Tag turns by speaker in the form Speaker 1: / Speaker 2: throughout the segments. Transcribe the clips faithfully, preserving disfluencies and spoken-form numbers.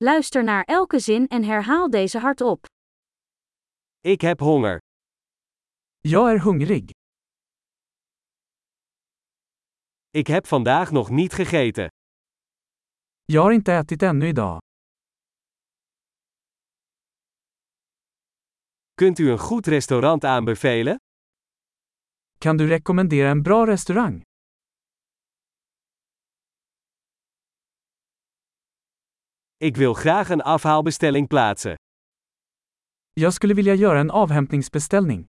Speaker 1: Luister naar elke zin en herhaal deze hardop.
Speaker 2: Ik heb honger.
Speaker 3: Jag är hungrig.
Speaker 2: Ik heb vandaag nog niet gegeten.
Speaker 3: Jag har inte ätit ännu idag.
Speaker 2: Kunt u een goed restaurant aanbevelen?
Speaker 3: Kan du rekommendera en bra restaurang?
Speaker 2: Ik wil graag een afhaalbestelling plaatsen.
Speaker 3: Jag skulle vilja göra en avhämtningsbeställning.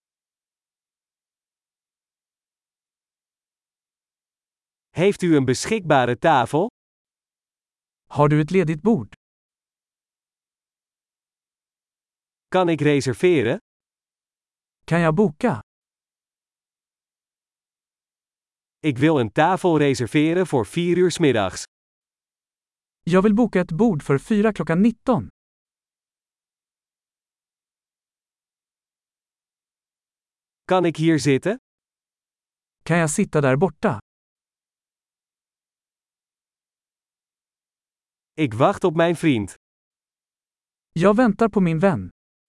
Speaker 2: Heeft u een beschikbare tafel?
Speaker 3: Har du ett ledigt bord?
Speaker 2: Kan ik reserveren?
Speaker 3: Kan jag boka?
Speaker 2: Ik wil een tafel reserveren voor vier uur 's middags.
Speaker 3: Jag vill boka ett bord för fyra klockan nitton.
Speaker 2: Kan ik hier zitten?
Speaker 3: Kan jag sitta där borta?
Speaker 2: Ik wacht op mijn vriend.
Speaker 3: Jag väntar på min vän.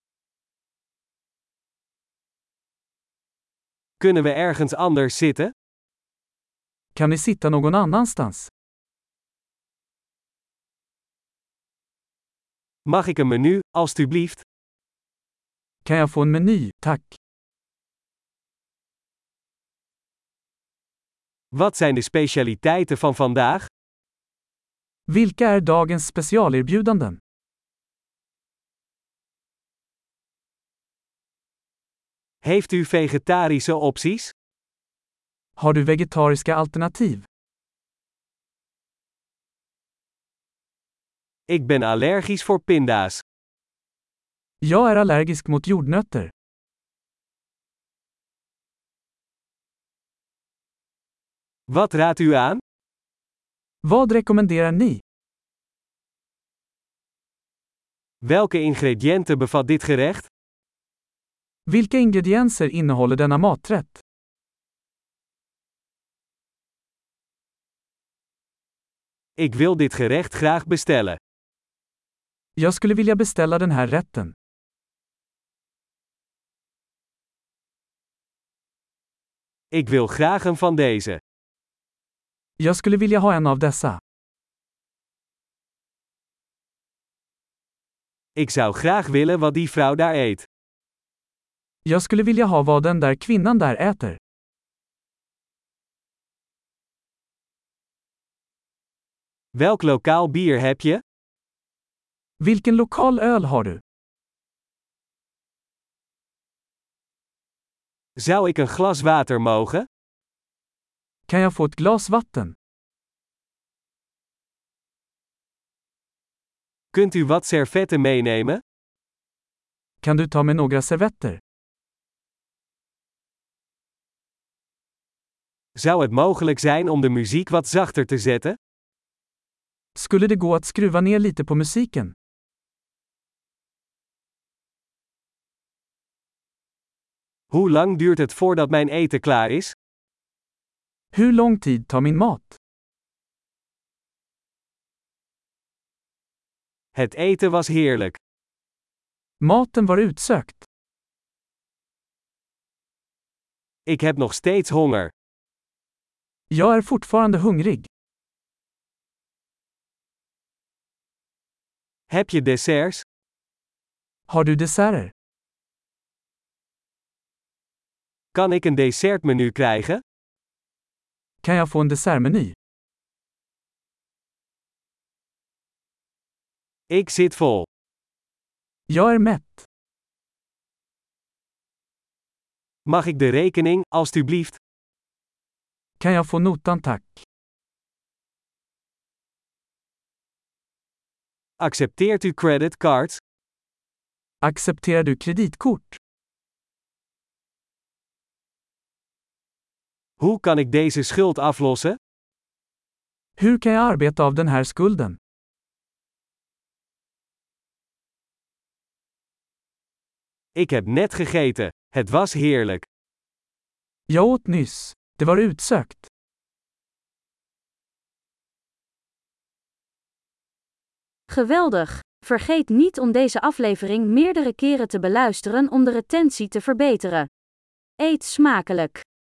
Speaker 2: Kunnen we ergens anders zitten?
Speaker 3: Kan vi sitta någon annanstans?
Speaker 2: Mag ik een menu, alstublieft?
Speaker 3: Kan jag få en meny, tack?
Speaker 2: Wat zijn de specialiteiten van vandaag?
Speaker 3: Vilka är dagens specialerbjudanden?
Speaker 2: Heeft u vegetarische opties?
Speaker 3: Har du vegetariska alternativ?
Speaker 2: Ik ben allergisch voor pinda's.
Speaker 3: Jag är allergisk mot jordnötter.
Speaker 2: Wat raadt u aan?
Speaker 3: Vad rekommenderar ni?
Speaker 2: Welke ingrediënten bevat dit gerecht?
Speaker 3: Vilka ingredienser innehåller denna maträtt?
Speaker 2: Ik wil dit gerecht graag bestellen.
Speaker 3: Jag skulle vilja beställa den här rätten.
Speaker 2: Ik wil graag een van deze.
Speaker 3: Jag skulle vilja ha en av dessa.
Speaker 2: Ik zou graag willen wat die vrouw daar eet.
Speaker 3: Jag skulle vilja ha vad den där kvinnan där äter.
Speaker 2: Welk lokaal bier heb je?
Speaker 3: Vilken lokal öl har du?
Speaker 2: Zou ik een glas water mogen?
Speaker 3: Kan jag få ett glas vatten?
Speaker 2: Kunt u wat servetten meenemen?
Speaker 3: Kan du ta med några servetter?
Speaker 2: Zou het mogelijk zijn om de muziek wat zachter te zetten?
Speaker 3: Skulle det gå att skruva ner lite på musiken?
Speaker 2: Hoe lang duurt het voordat mijn eten klaar is?
Speaker 3: Hur lång tid tar min mat?
Speaker 2: Het eten was heerlijk.
Speaker 3: Maten var utsökt.
Speaker 2: Ik heb nog steeds honger.
Speaker 3: Jag är fortfarande hungrig.
Speaker 2: Heb je desserts?
Speaker 3: Har du desserter?
Speaker 2: Kan ik een dessertmenu krijgen?
Speaker 3: Kan jag få en dessertmeny?
Speaker 2: Ik zit vol.
Speaker 3: Jag är mätt.
Speaker 2: Mag ik de rekening, alstublieft?
Speaker 3: Kan jag få notan tack?
Speaker 2: Accepteert u creditcards?
Speaker 3: Accepterar du kreditkort?
Speaker 2: Hoe kan ik deze schuld aflossen?
Speaker 3: Hur kan jag arbeta av den här skulden?
Speaker 2: Ik heb net gegeten. Het was heerlijk.
Speaker 3: Jag åt nyss. Det var utsökt.
Speaker 1: Geweldig! Vergeet niet om deze aflevering meerdere keren te beluisteren om de retentie te verbeteren. Eet smakelijk!